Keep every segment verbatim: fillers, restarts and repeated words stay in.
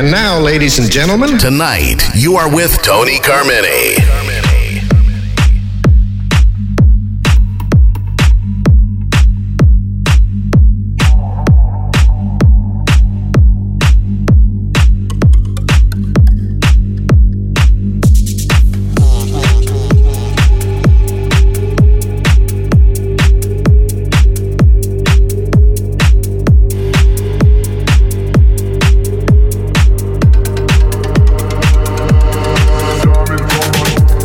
And now, ladies and gentlemen, tonight you are with Tony Carmine. Diamond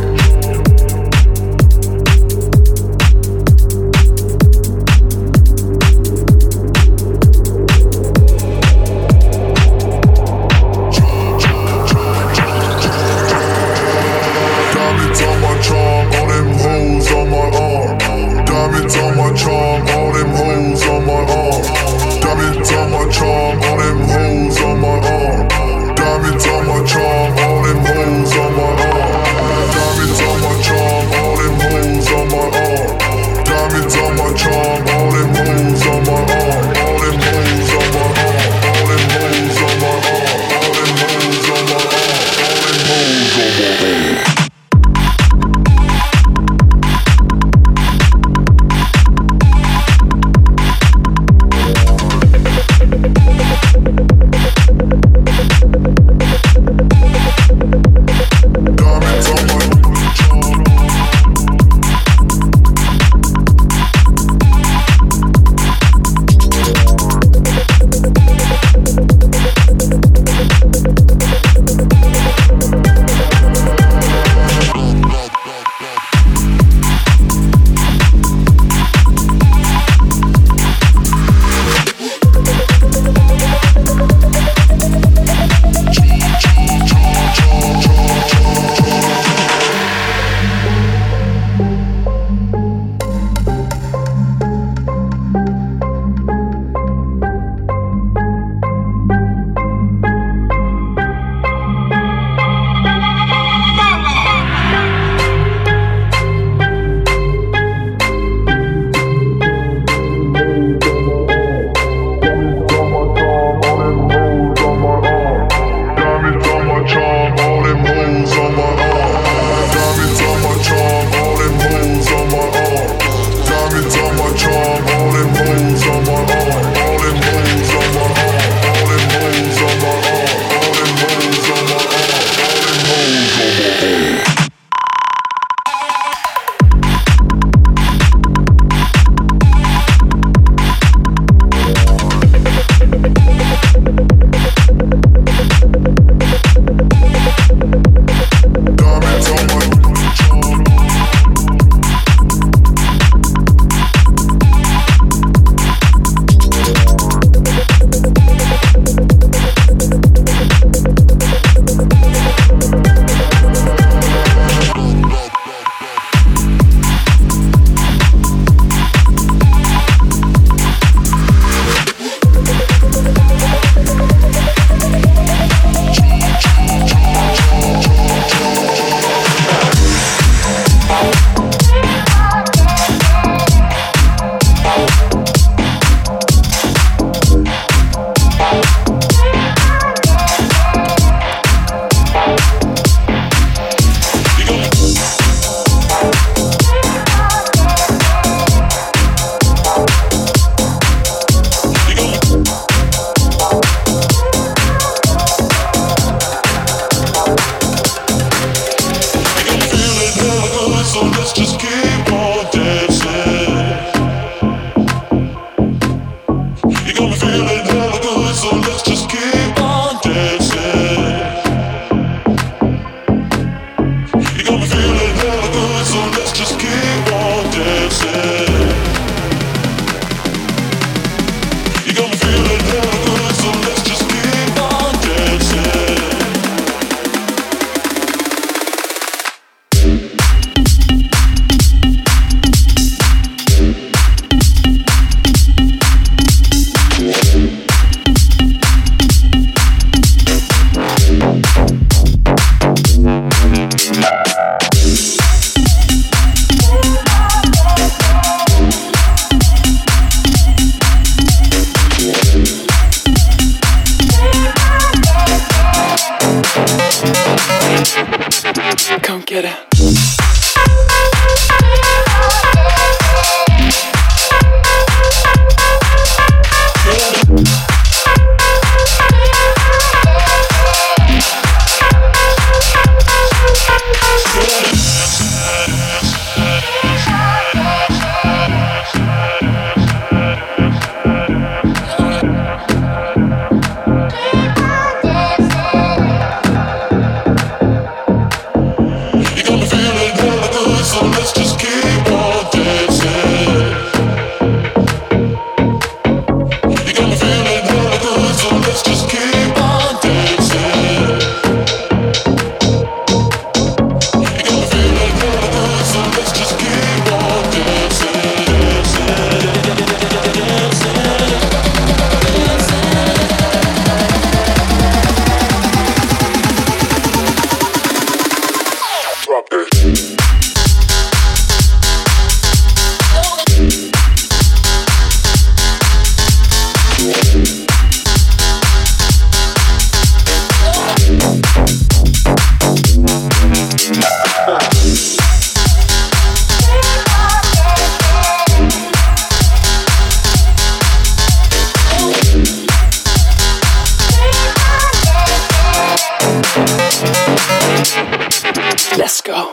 Let's go.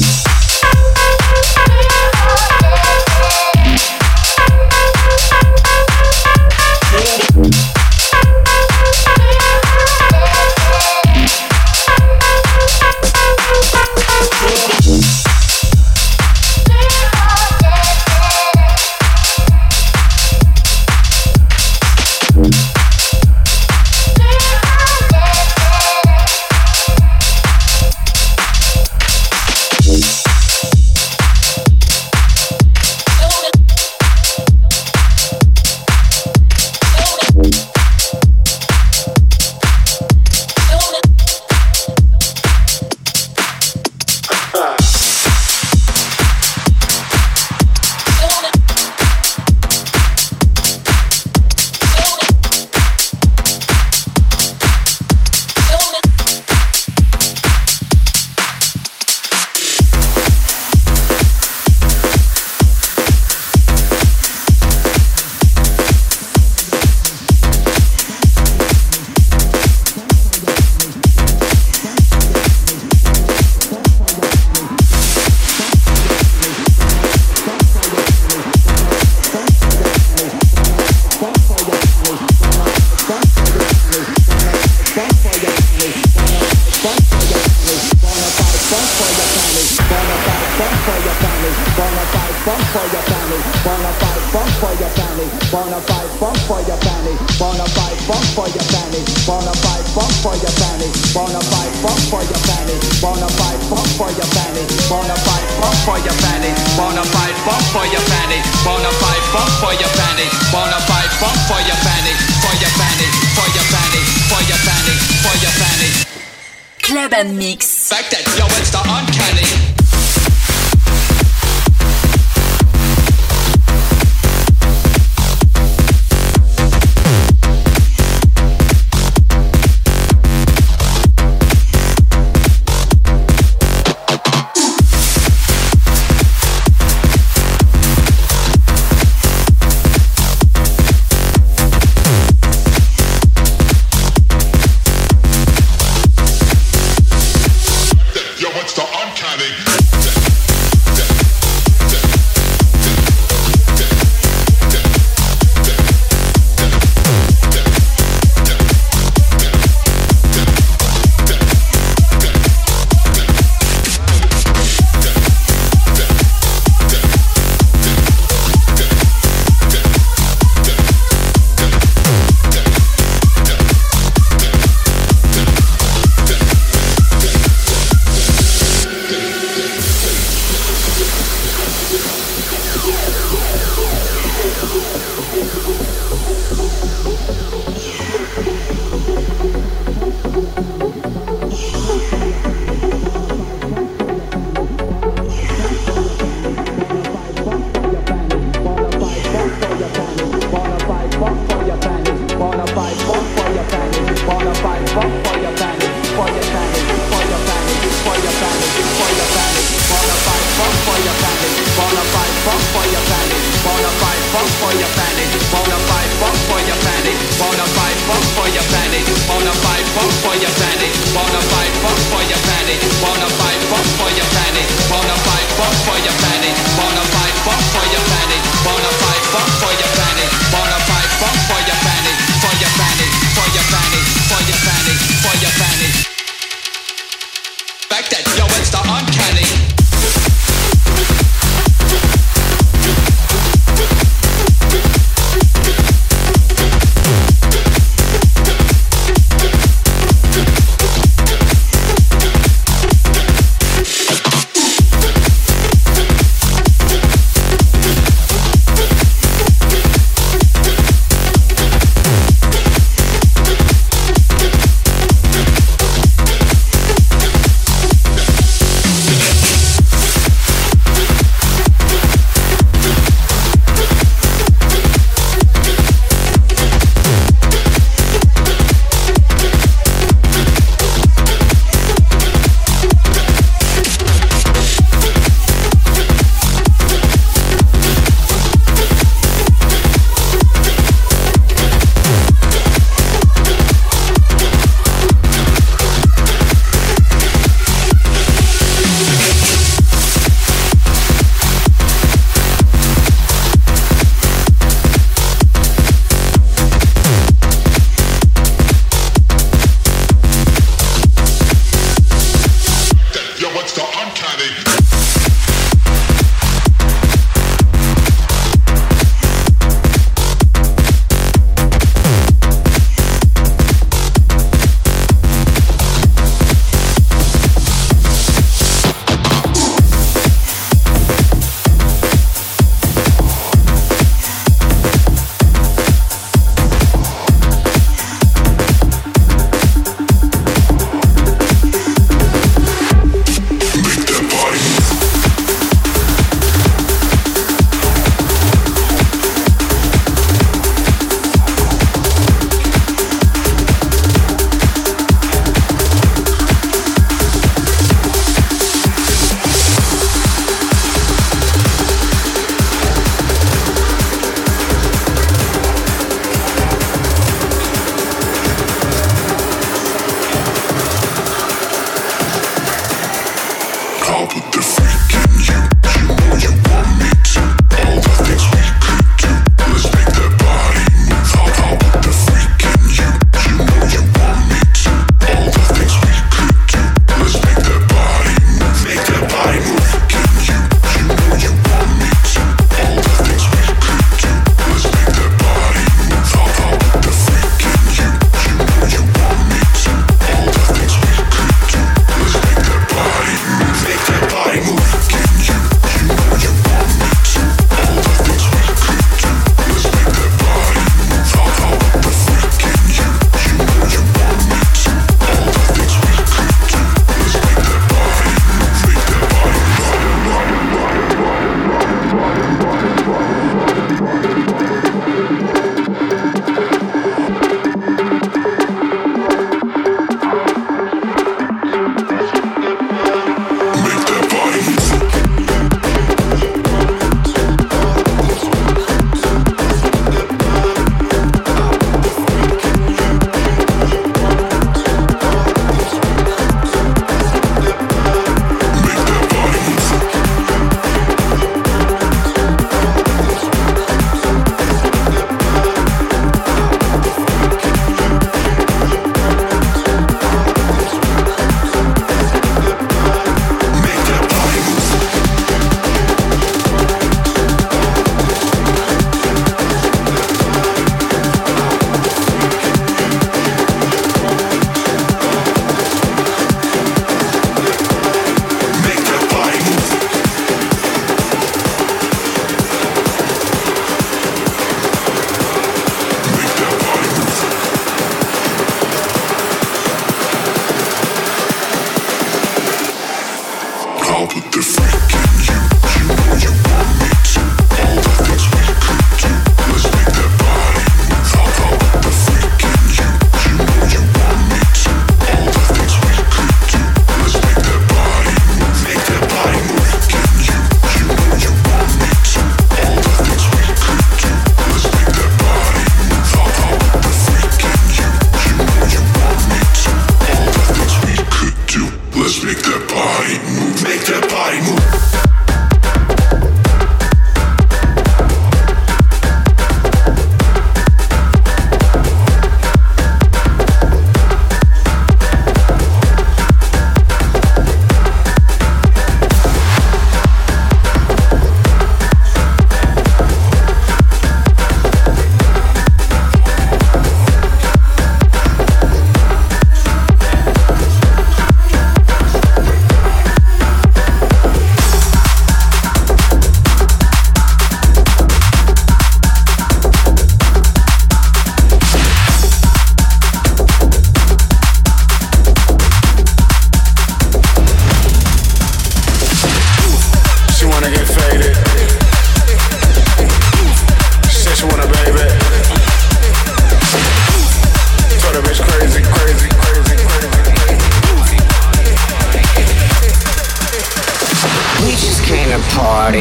Mix. Back that, yo, it's the uncanny.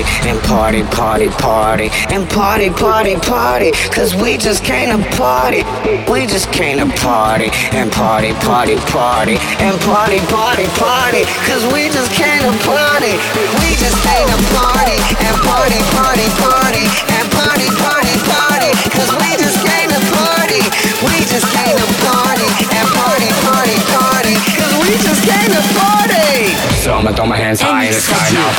party and party, party, party and party, party, party. Cause we just came to party. We just came to party and party, party, party and party, party, party. Cause we just came to party. We just came to party and party, party, party and party, party, party. Cause we just came to party. We just came to party and party, party, party. Cause we just came to party. So I'ma throw my hands high in the sky now.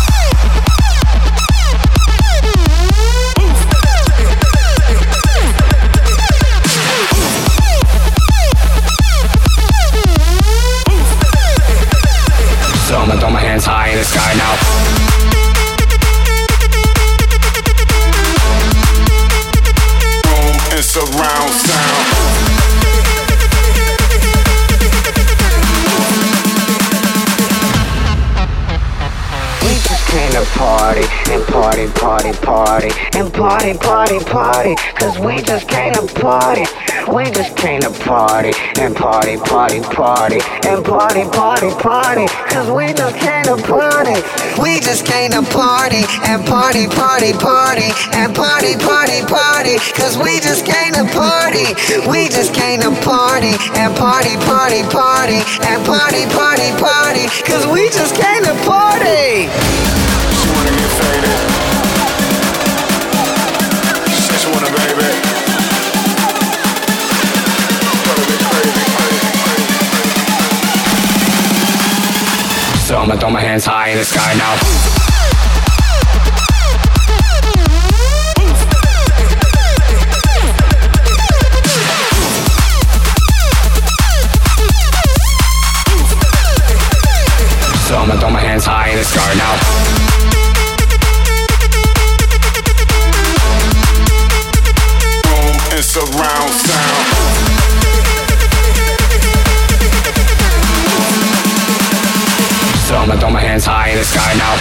So I'ma throw my hands high in the sky now. Boom and surround sound. Came to party and party, party, party and party, party, party. Cause we just came to party. We just came to party and party, party, party and party, party, party. Cause we just came to party. We just came to party and party, party, party and party, party, party. Cause we just came to party. We just came to party and party, party, party and party, party, party. Cause we just came to party. She wanna get faded. She said she wanna, baby. So I'ma throw my hands high in the sky now. So I'ma throw my hands high in the sky now. Boom and surround sound. So I'ma throw my hands high in the sky now.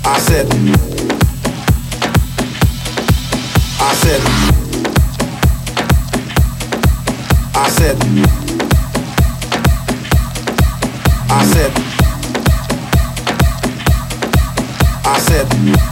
I said, I said, I said, I said, I said,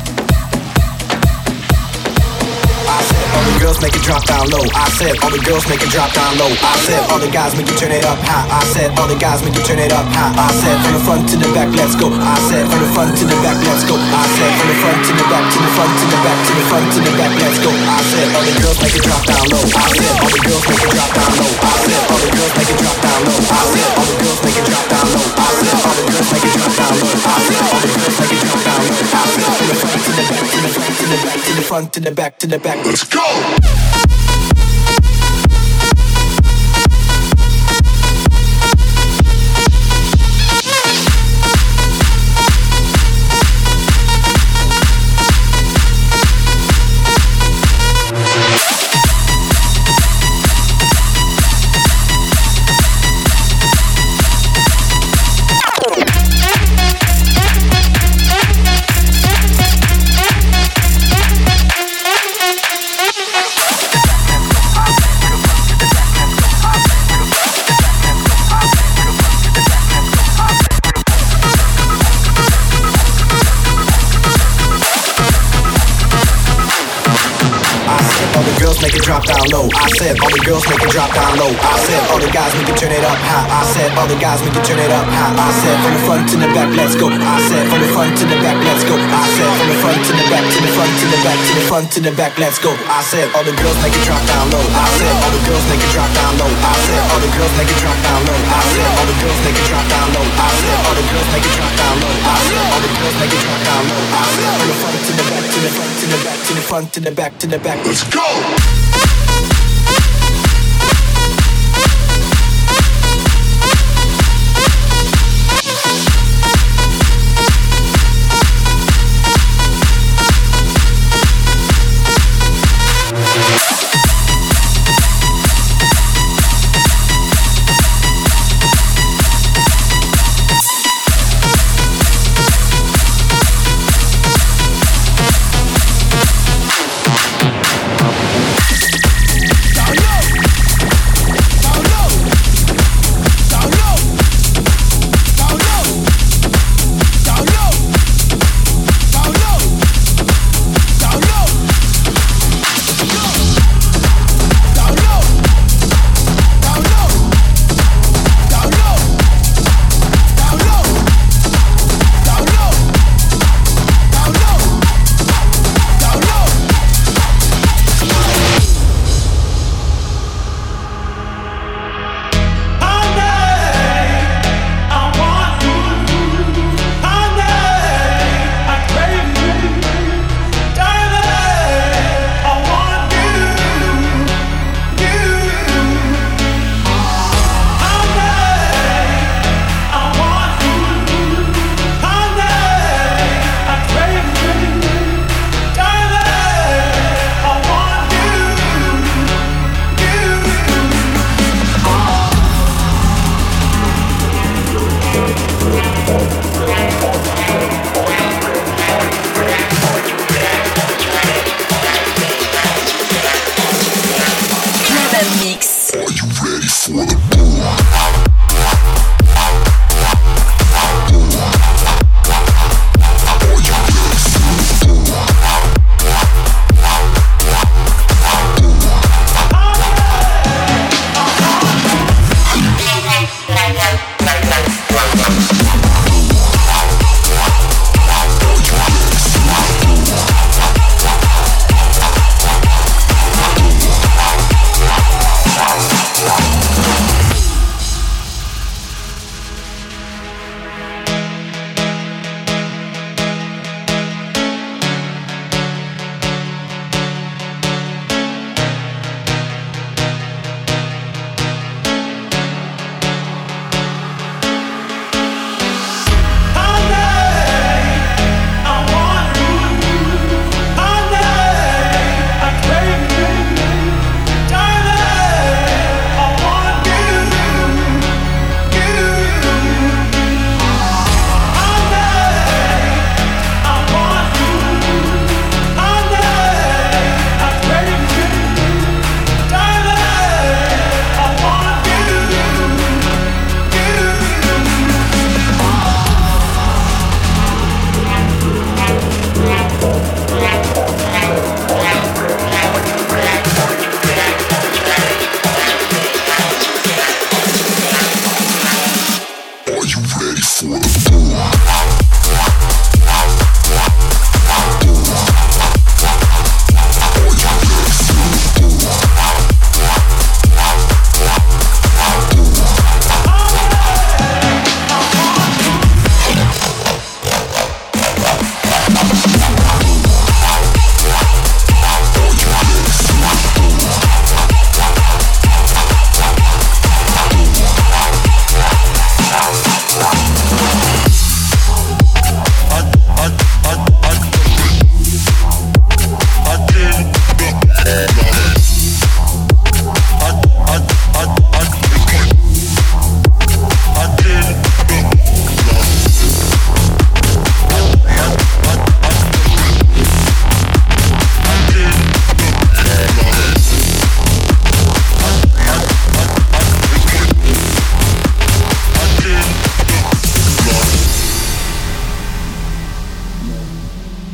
I said, all the girls make it drop down low. I said, all the girls make it drop down low. I said, all the guys make you turn it up high. I said, all the guys make you turn it up high. I said, from the front to the back, let's go. I said, from the front to the back, let's go. I said, from the front to the back, to the front to the back, to the front to the back, let's go. I said, all the girls make it drop down low. I said, all the girls make it drop down low. I said, all the girls make it drop down low. I said, all the girls make it drop down low. I said, all the girls make it drop down low. I said, all the girls make it drop down low. I said, from the front to the back, to the front to the back, to the front to the back, to the back, let's go. Make it drop down low. I said all the girls make it drop down low. I said all the guys make it turn it up high. I said all the guys make it turn it up high. I said from the front to the back, let's go. I said from the front to the back, let's go. I said from the front to the back, to the front to the back, to the front to the back, let's go. I said all the girls make it drop down low. I said all the girls make it drop down low. I said all the girls make it drop down low. I said all the girls make it drop down low. I said all the girls make it drop down low. I said all the girls make it drop down low. I said from the front to the back, to the front to the back, to the front to the back, to the back, let's go.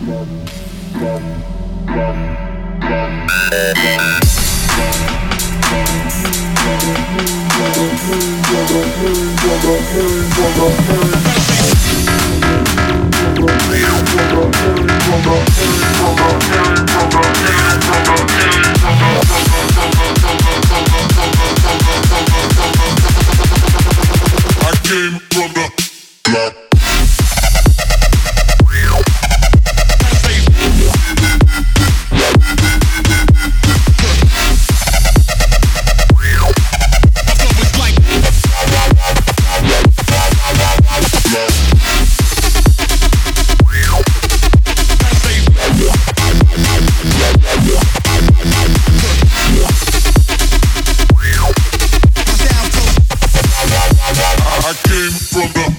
Came from the block. I came from the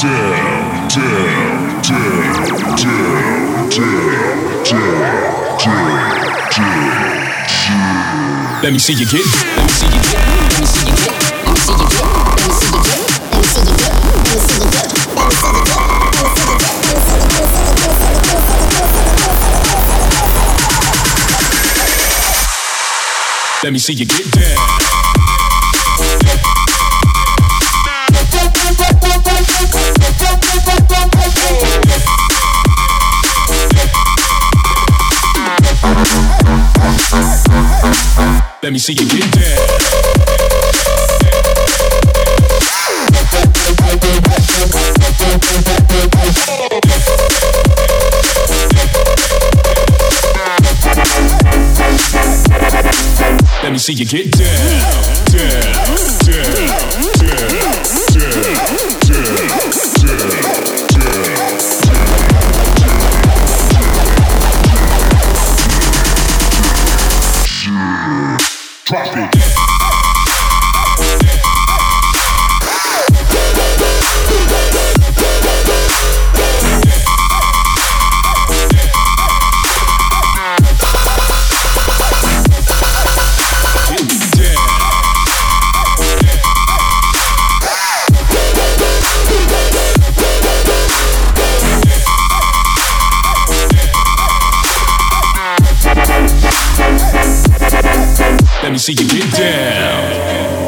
Let me see you get. Let me see you get. Let me see you get. Let me see you get. Let me see you get. Let me see you get. Let me see you get. Let me see you get. Let me see you get down. Let me see you get down. Let me see you get down, down, down, down, down, down, down. Drop it. Let me see you get down.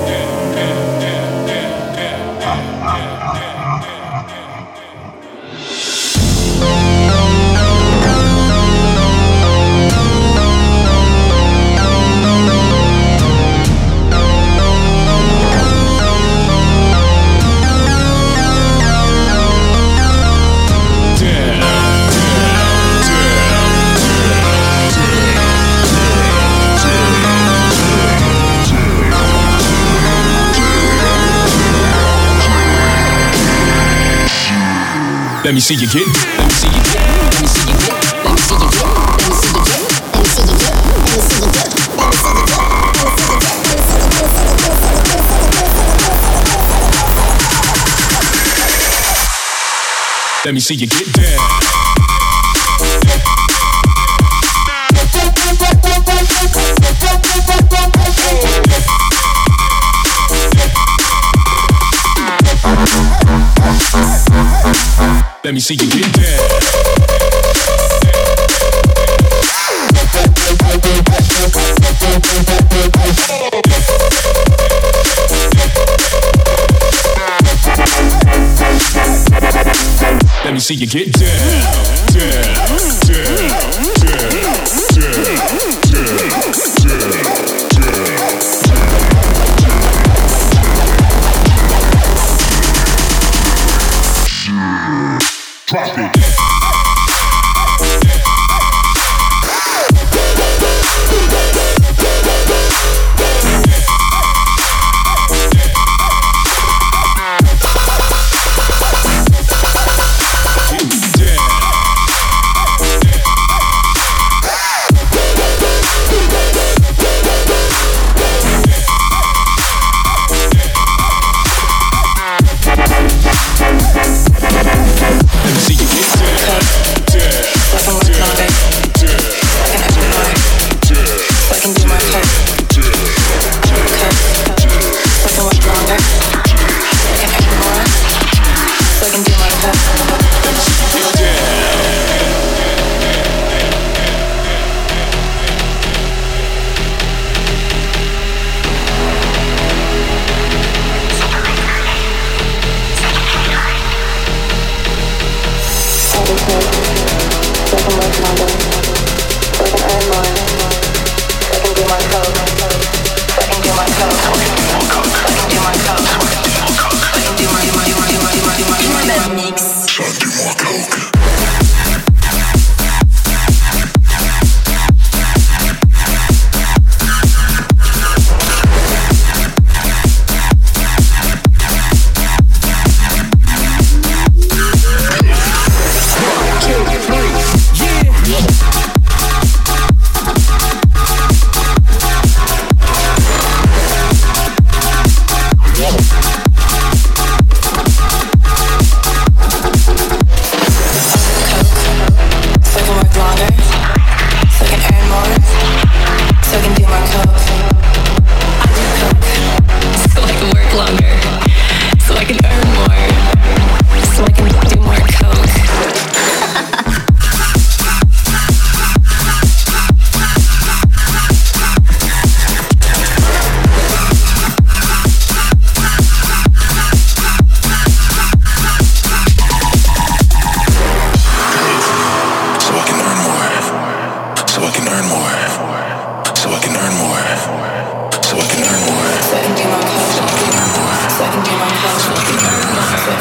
Let me see you get. Let me see you get. Let me see you get. Let me see you get. Let me see you get. Let me see you get. Let me see you get. Let me see you get. Let me see you get down. Let me see you get down. Let me see you get down, down, down, down, down, down. Drop it.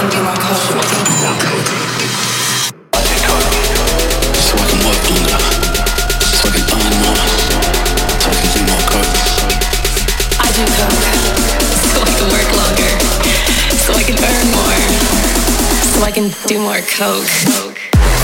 can do more coke. So I can work longer. So I can earn more. So I can do more coke. I do coke. So I can work longer. So I can earn more. So I can do more coke. coke.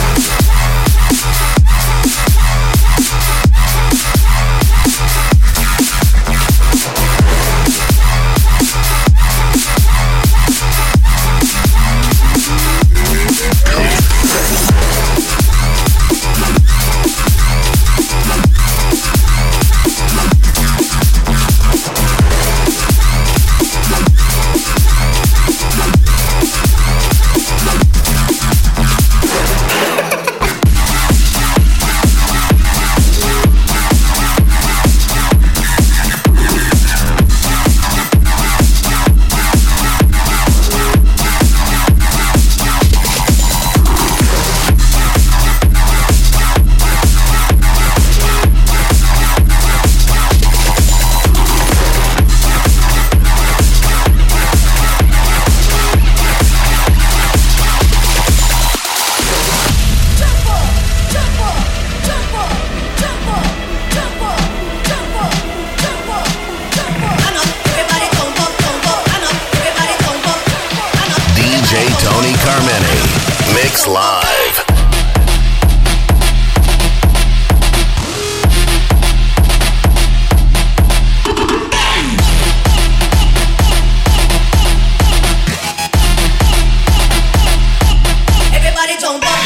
Live. Everybody jump up.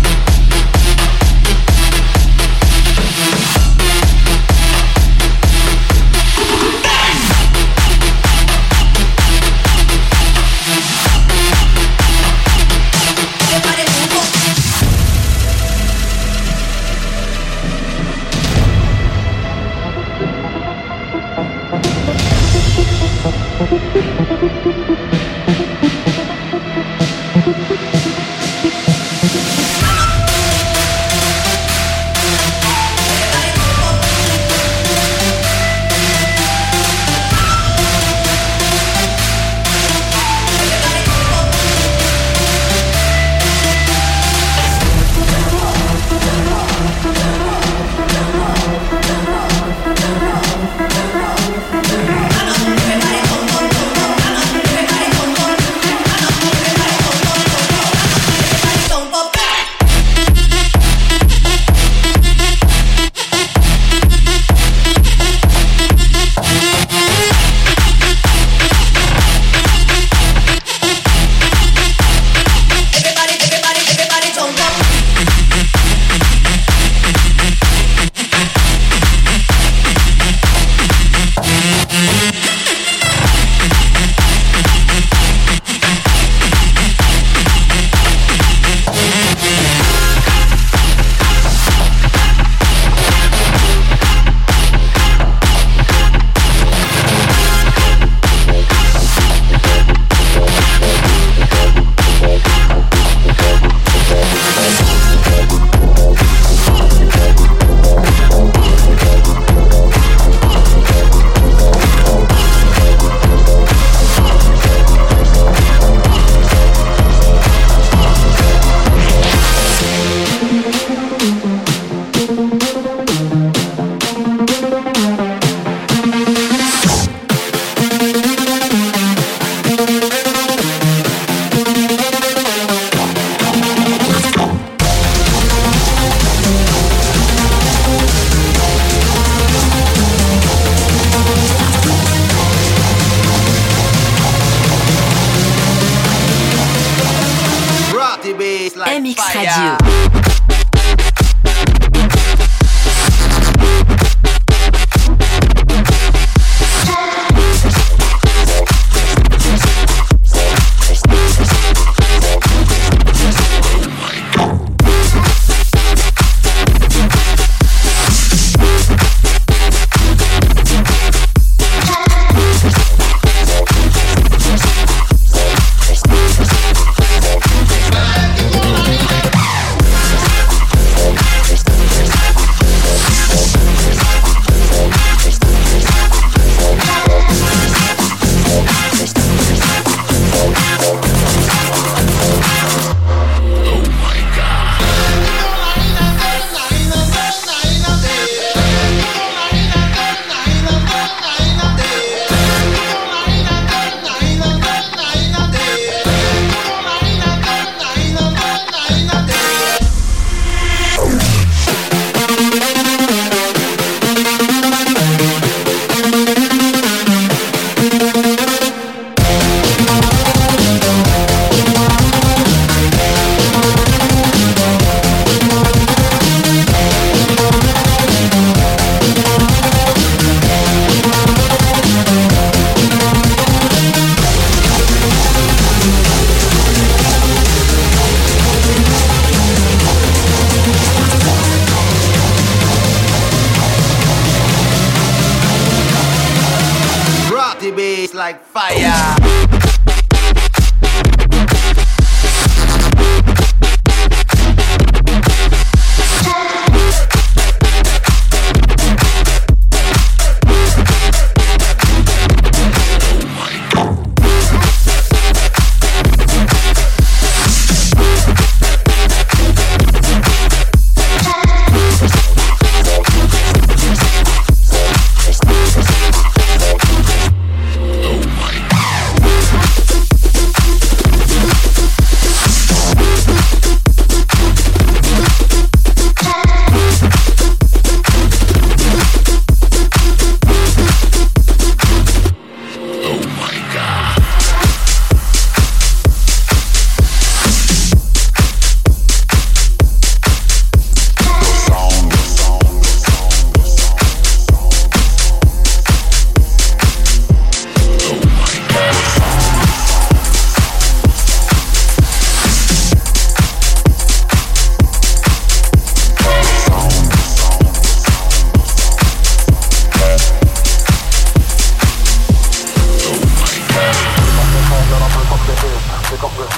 M X Radio.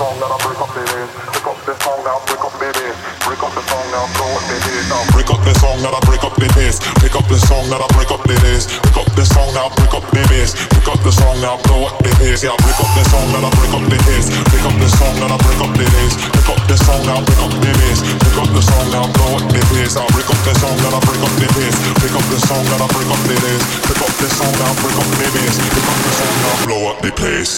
song that I break up the bass. Pick up the song now, break up the bass. Break up the song now, blow up the bass. Now break up the song that I break up the bass. Pick up the song that I break up the bass. Pick up the song now, break up the bass. Pick up the song now, blow up the bass. Yeah, break up the song that I break up the bass. Pick up the song that I break up the bass. Pick up the song now, break up the bass. Pick up the song now, blow up the bass. I'll break up the song that I break up the bass. Pick up the song that I break up the bass. Pick up the song now, break up the bass. Pick up the song now, blow up the place.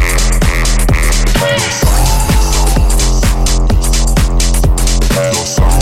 No sound.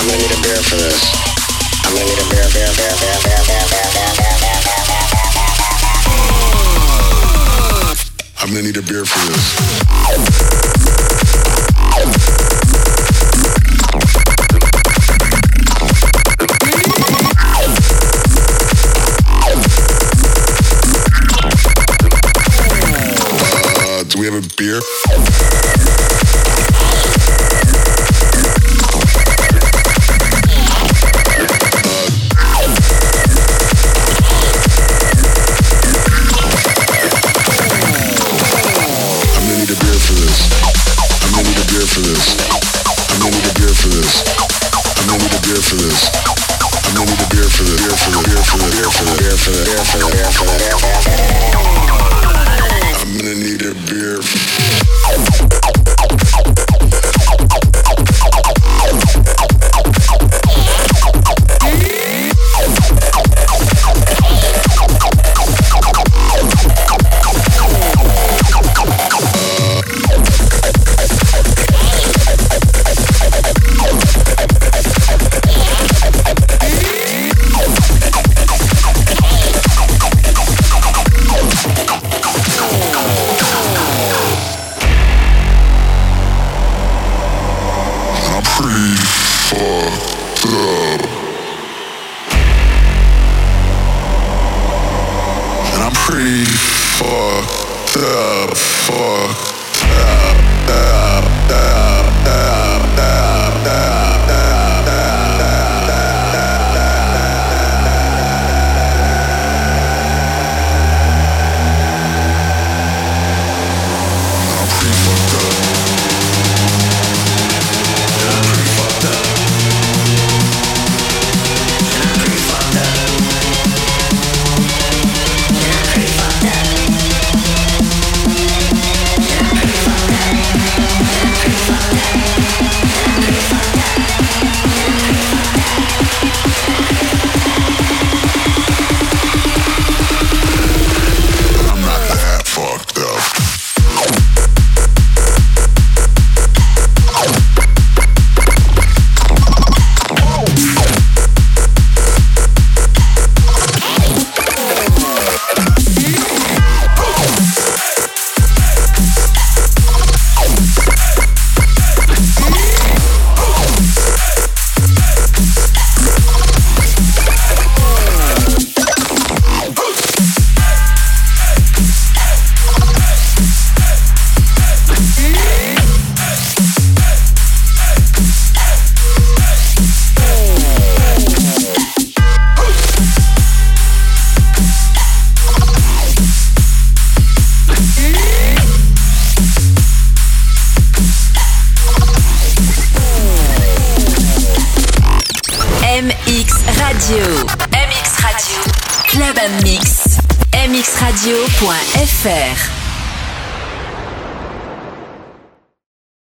gonna need a beer for this. I'm gonna need a beer, beer, beer, beer, beer, beer, beer, beer, beer, beer, beer, beer, beer, beer. I'm gonna need a beer for this. Uh, do we have a beer? For this, I'm gonna need a beer for this. I'm gonna need a beer for this. I'm gonna need a beer for the beer for the beer for the beer for the beer for the beer for the beer for the beer for the beer. I'm gonna need a beer. M X Radio. M X Radio. Club and Mix. M X radio point F R.